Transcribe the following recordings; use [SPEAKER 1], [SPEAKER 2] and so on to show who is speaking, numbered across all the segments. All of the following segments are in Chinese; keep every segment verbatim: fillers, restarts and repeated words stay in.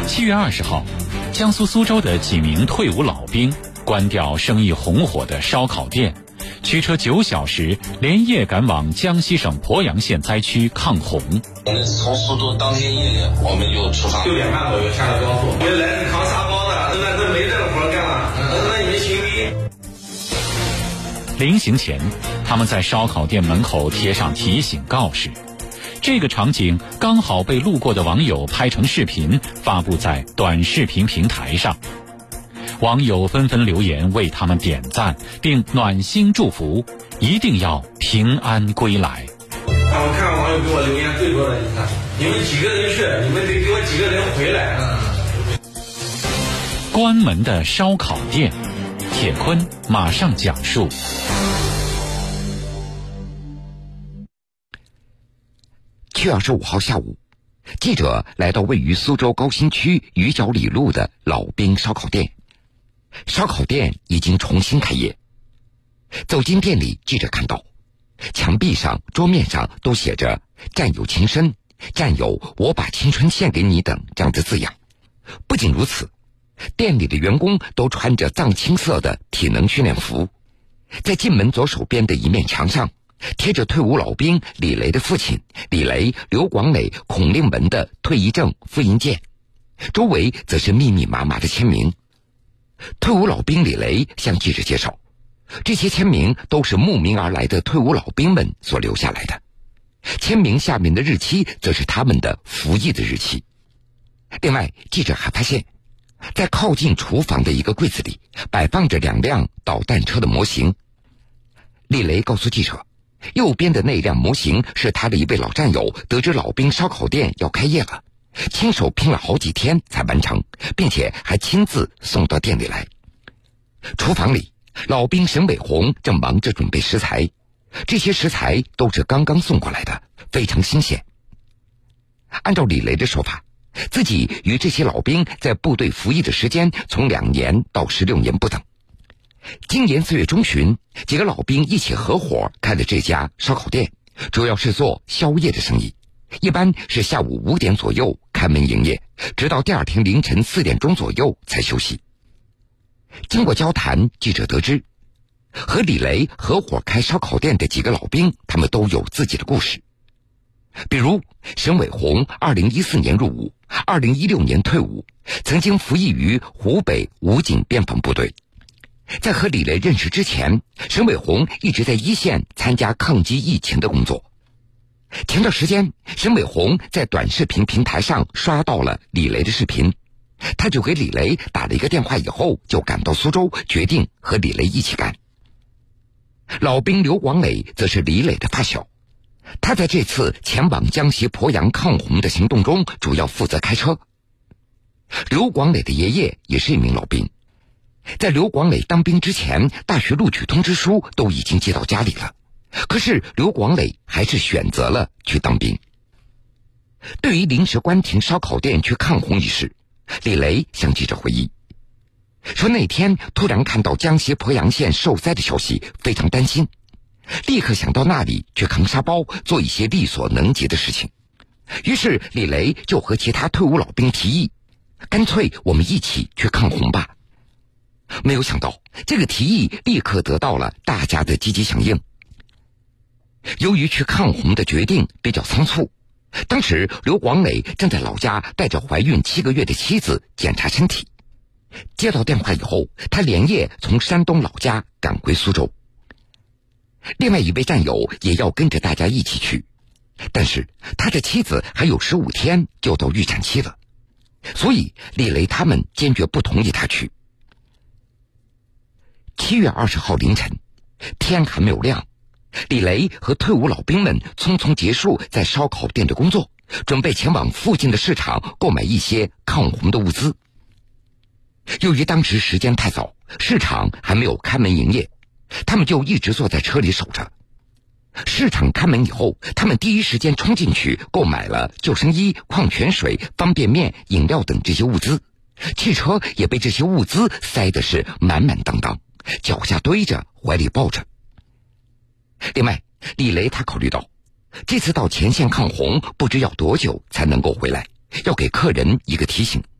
[SPEAKER 1] 七月二十号，江苏苏州的几名退伍老兵关掉生意红火的烧烤店，驱车九小时连夜赶往江西省鄱阳县灾区抗洪。
[SPEAKER 2] 我们从苏州当天夜我们就出发，
[SPEAKER 3] 六点半左右下了高速。原来是扛沙包的，那那没这个活干了，那你们行
[SPEAKER 1] 逼。临行前，他们在烧烤店门口贴上提醒告示。这个场景刚好被路过的网友拍成视频，发布在短视频平台上。网友纷纷留言为他们点赞，并暖心祝福，一定要平安归来。
[SPEAKER 3] 我看网友给我留言最多的，你看你们几个人去，你们得给我几个人回来。
[SPEAKER 1] 关门的烧烤店，铁坤马上讲述。
[SPEAKER 4] 七月二十五号下午，记者来到位于苏州高新区鱼角里路的老兵烧烤店。烧烤店已经重新开业。走进店里，记者看到墙壁上、桌面上都写着“战友情深”、“战友我把青春献给你”等这样的字样。不仅如此，店里的员工都穿着藏青色的体能训练服。在进门左手边的一面墙上，贴着退伍老兵李雷的父亲李雷、刘广磊、孔令文的退役证、复印件，周围则是密密麻麻的签名。退伍老兵李雷向记者介绍，这些签名都是慕名而来的退伍老兵们所留下来的，签名下面的日期则是他们的服役的日期。另外，记者还发现，在靠近厨房的一个柜子里摆放着两辆导弹车的模型。李雷告诉记者，右边的那辆模型是他的一位老战友得知老兵烧烤店要开业了，亲手拼了好几天才完成，并且还亲自送到店里来。厨房里，老兵沈伟红正忙着准备食材，这些食材都是刚刚送过来的，非常新鲜。按照李雷的说法，自己与这些老兵在部队服役的时间从两年到十六年不等。今年四月中旬，几个老兵一起合伙开了这家烧烤店，主要是做宵夜的生意，一般是下午五点左右开门营业，直到第二天凌晨四点钟左右才休息。经过交谈，记者得知，和李雷合伙开烧烤店的几个老兵，他们都有自己的故事。比如沈伟红二零一四年入伍，二零一六年退伍，曾经服役于湖北武警边防部队。在和李雷认识之前，沈伟红一直在一线参加抗击疫情的工作。前段时间，沈伟红在短视频平台上刷到了李雷的视频，他就给李雷打了一个电话，以后就赶到苏州，决定和李雷一起干。老兵刘广磊则是李磊的发小，他在这次前往江西鄱阳抗洪的行动中主要负责开车。刘广磊的爷爷也是一名老兵，在刘广磊当兵之前，大学录取通知书都已经寄到家里了，可是刘广磊还是选择了去当兵。对于临时关停烧烤店去抗洪一事，李雷向记者回忆说，那天突然看到江西鄱阳县受灾的消息，非常担心，立刻想到那里去扛沙包，做一些力所能及的事情。于是李雷就和其他退伍老兵提议，干脆我们一起去抗洪吧。没有想到，这个提议立刻得到了大家的积极响应。由于去抗洪的决定比较仓促，当时刘广磊正在老家带着怀孕七个月的妻子检查身体。接到电话以后，他连夜从山东老家赶回苏州。另外一位战友也要跟着大家一起去，但是他的妻子还有十五天就到预产期了，所以李雷他们坚决不同意他去。七月二十号凌晨，天还没有亮，李雷和退伍老兵们匆匆结束在烧烤店的工作，准备前往附近的市场购买一些抗洪的物资。由于当时时间太早，市场还没有开门营业，他们就一直坐在车里守着。市场开门以后，他们第一时间冲进去购买了救生衣、矿泉水、方便面、饮料等这些物资，汽车也被这些物资塞的是满满当当，脚下堆着，怀里抱着。另外，李雷他考虑到这次到前线抗洪不知要多久才能够回来，要给客人一个提醒，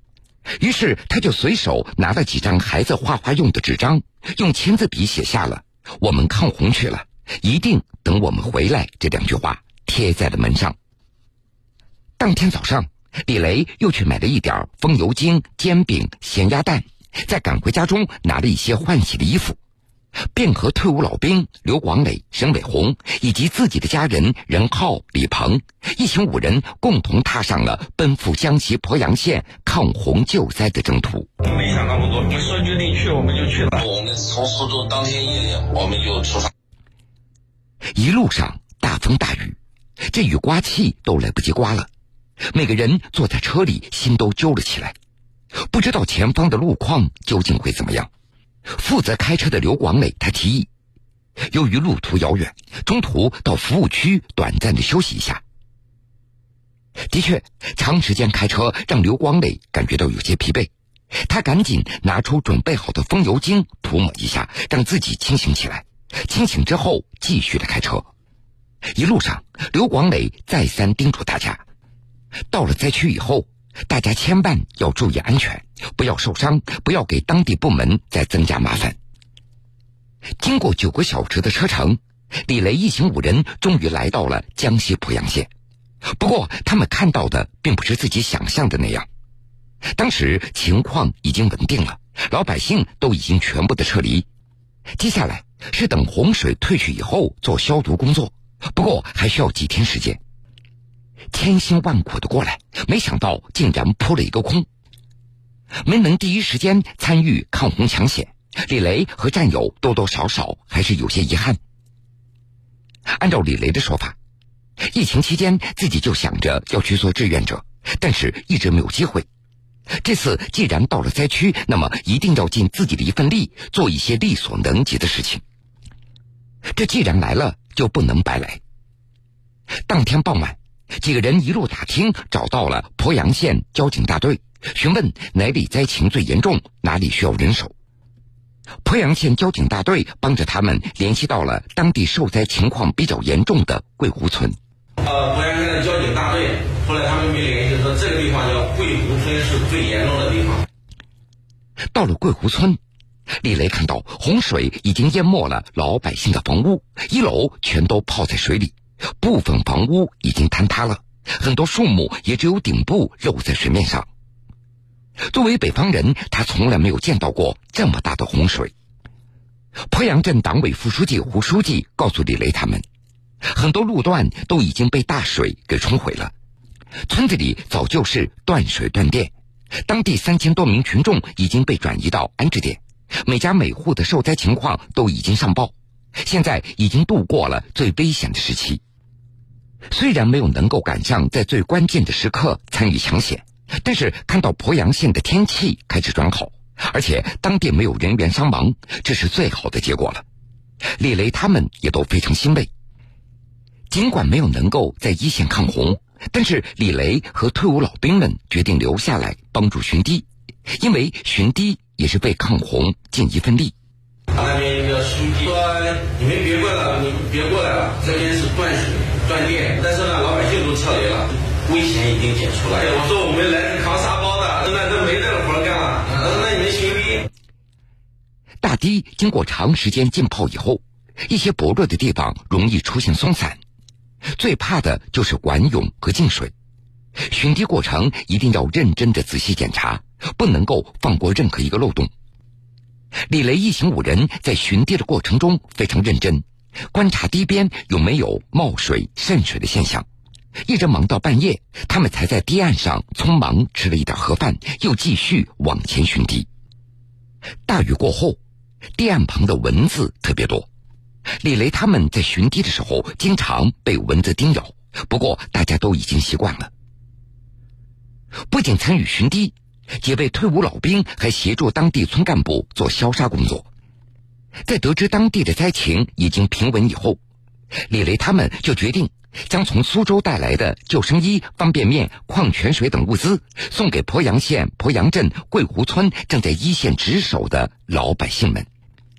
[SPEAKER 4] 于是他就随手拿了几张孩子画画用的纸张，用签字笔写下了“我们抗洪去了，一定等我们回来”这两句话，贴在了门上。当天早上，李雷又去买了一点风油精、煎饼、咸鸭蛋，再赶回家中拿了一些换洗的衣服，便和退伍老兵刘广磊、沈伟红以及自己的家人任浩、李鹏一行五人共同踏上了奔赴江西鄱阳县抗洪救灾的征途。
[SPEAKER 3] 没想那么多，我们说决定去我们就去了。
[SPEAKER 2] 我们从苏州当天夜我们就出发。
[SPEAKER 4] 一路上大风大雨，这雨刮器都来不及刮了，每个人坐在车里心都揪了起来，不知道前方的路况究竟会怎么样。负责开车的刘广磊他提议，由于路途遥远，中途到服务区短暂的休息一下。的确，长时间开车让刘广磊感觉到有些疲惫，他赶紧拿出准备好的风油精涂抹一下，让自己清醒起来。清醒之后继续的开车。一路上刘广磊再三叮嘱大家，到了灾区以后，大家千万要注意安全，不要受伤，不要给当地部门再增加麻烦。经过九个小时的车程，李雷一行五人终于来到了江西鄱阳县。不过他们看到的并不是自己想象的那样，当时情况已经稳定了，老百姓都已经全部的撤离，接下来是等洪水退去以后做消毒工作，不过还需要几天时间。千辛万苦的过来，没想到竟然扑了一个空。没能第一时间参与抗洪抢险，李雷和战友多多少少还是有些遗憾。按照李雷的说法，疫情期间自己就想着要去做志愿者，但是一直没有机会。这次既然到了灾区，那么一定要尽自己的一份力，做一些力所能及的事情。这既然来了，就不能白来。当天傍晚，几个人一路打听，找到了鄱阳县交警大队，询问哪里灾情最严重，哪里需要人手。鄱阳县交警大队帮着他们联系到了当地受灾情况比较严重的桂湖村。
[SPEAKER 3] 呃，鄱阳县的交警大队，后来他们没联系说这个地方叫桂湖村是最严重的地方。
[SPEAKER 4] 到了桂湖村，李雷看到洪水已经淹没了老百姓的房屋，一楼全都泡在水里，部分房屋已经坍塌了，很多树木也只有顶部露在水面上。作为北方人，他从来没有见到过这么大的洪水。鄱阳镇党委副书记胡书记告诉李雷他们，很多路段都已经被大水给冲毁了，村子里早就是断水断电，当地三千多名群众已经被转移到安置点，每家每户的受灾情况都已经上报，现在已经度过了最危险的时期。虽然没有能够赶上在最关键的时刻参与抢险，但是看到鄱阳县的天气开始转好，而且当地没有人员伤亡，这是最好的结果了。李雷他们也都非常欣慰。尽管没有能够在一线抗洪，但是李雷和退伍老兵们决定留下来帮助巡堤，因为巡堤也是为抗洪尽一份力。
[SPEAKER 3] 那边一个书记说：“你们别过来了，你们别过来了，这边是断水断电，但是呢，老百姓都撤离了，危险已经解除了。”我说我们来自扛沙包的，那都没这个活干了，那你们巡堤。
[SPEAKER 4] 大堤经过长时间浸泡以后，一些薄弱的地方容易出现松散，最怕的就是管涌和进水。巡堤过程一定要认真的仔细检查，不能够放过任何一个漏洞。李雷一行五人在巡堤的过程中非常认真，观察堤边有没有冒水渗水的现象，一直忙到半夜，他们才在堤岸上匆忙吃了一点盒饭，又继续往前巡堤。大雨过后，堤岸旁的蚊子特别多，李雷他们在巡堤的时候经常被蚊子叮咬，不过大家都已经习惯了。不仅参与巡堤，几位退伍老兵还协助当地村干部做消杀工作。在得知当地的灾情已经平稳以后，李雷他们就决定将从苏州带来的救生衣、方便面、矿泉水等物资送给鄱阳县鄱阳镇桂湖村正在一线值守的老百姓们。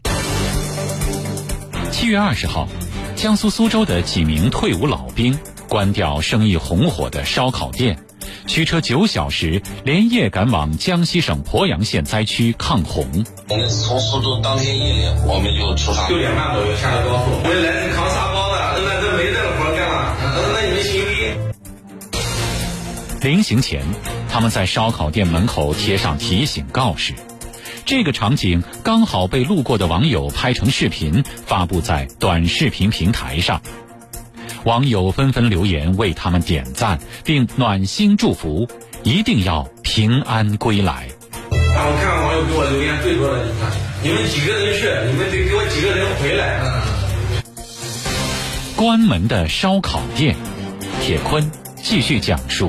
[SPEAKER 1] 七月二十号，江苏苏州的几名退伍老兵关掉生意红火的烧烤店， 驱车九小时，连夜赶往江西省鄱阳县灾区抗洪。
[SPEAKER 2] 我们从苏州当天夜里我们就出发，
[SPEAKER 3] 六点半左右下了高速。我们来自扛沙包的，那这没这个活干了，那你们行不？
[SPEAKER 1] 临行前，他们在烧烤店门口贴上提醒告示。这个场景刚好被路过的网友拍成视频，发布在短视频平台上。网友纷纷留言为他们点赞，并暖心祝福，一定要平安归来。
[SPEAKER 3] 啊，我看网友给我留言最多的，你看，你们几个人去，你们得给我几个人回来。
[SPEAKER 1] 嗯、关门的烧烤店，铁坤继续讲述。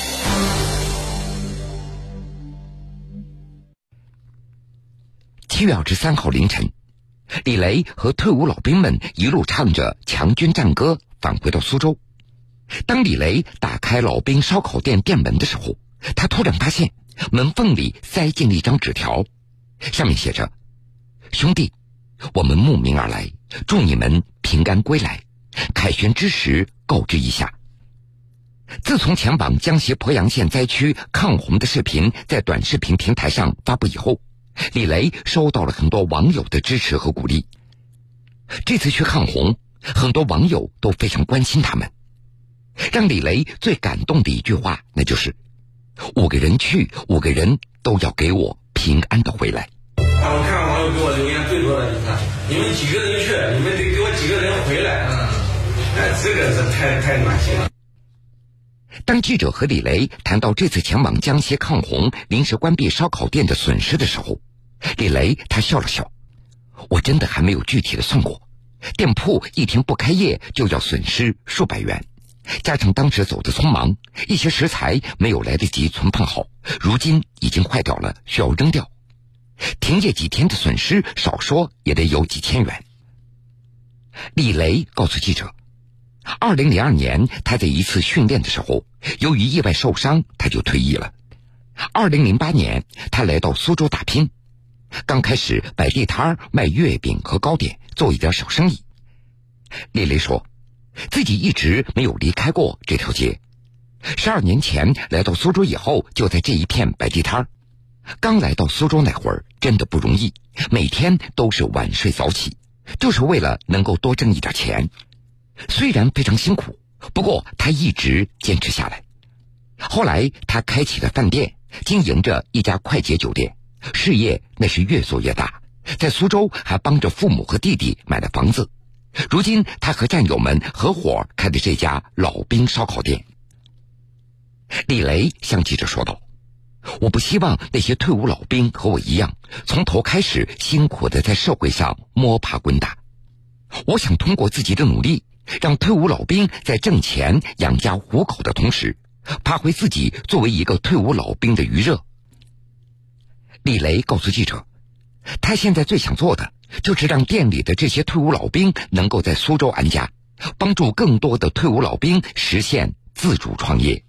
[SPEAKER 4] 七月二十三号凌晨，李雷和退伍老兵们一路唱着强军战歌返回到苏州。当李雷打开老兵烧烤店店门的时候，他突然发现门缝里塞进了一张纸条，上面写着：兄弟，我们慕名而来，祝你们平安归来，凯旋之时告知一下。自从前往江西鄱阳县灾区抗洪的视频在短视频平台上发布以后，李雷收到了很多网友的支持和鼓励。这次去抗洪，很多网友都非常关心他们。让李雷最感动的一句话，那就是五个人去，五个人都要给我平安的回来。
[SPEAKER 3] 啊，我看网友给我留言最多的，你看，你们几个人去，你们得给我几个人回来。嗯，哎，这个是太太暖心了。
[SPEAKER 4] 当记者和李雷谈到这次前往江西抗洪临时关闭烧烤店的损失的时候，李雷他笑了笑，我真的还没有具体的算过，店铺一天不开业就要损失数百元，加上当时走得匆忙，一些食材没有来得及存放好，如今已经坏掉了，需要扔掉。停业几天的损失少说也得有几千元。李雷告诉记者，二零零二年他在一次训练的时候，由于意外受伤，他就退役了。二零零八年他来到苏州打拼，刚开始摆地摊卖月饼和糕点，做一点小生意。李雷说自己一直没有离开过这条街，十二年前来到苏州以后，就在这一片摆地摊。刚来到苏州那会儿真的不容易，每天都是晚睡早起，就是为了能够多挣一点钱。虽然非常辛苦，不过他一直坚持下来。后来他开启了饭店，经营着一家快捷酒店，事业那是越做越大，在苏州还帮着父母和弟弟买了房子。如今他和战友们合伙开的这家老兵烧烤店。李雷向记者说道，我不希望那些退伍老兵和我一样，从头开始辛苦的在社会上摸爬滚打。我想通过自己的努力，让退伍老兵在挣钱养家糊口的同时，发挥自己作为一个退伍老兵的余热。李雷告诉记者，他现在最想做的就是让店里的这些退伍老兵能够在苏州安家，帮助更多的退伍老兵实现自主创业。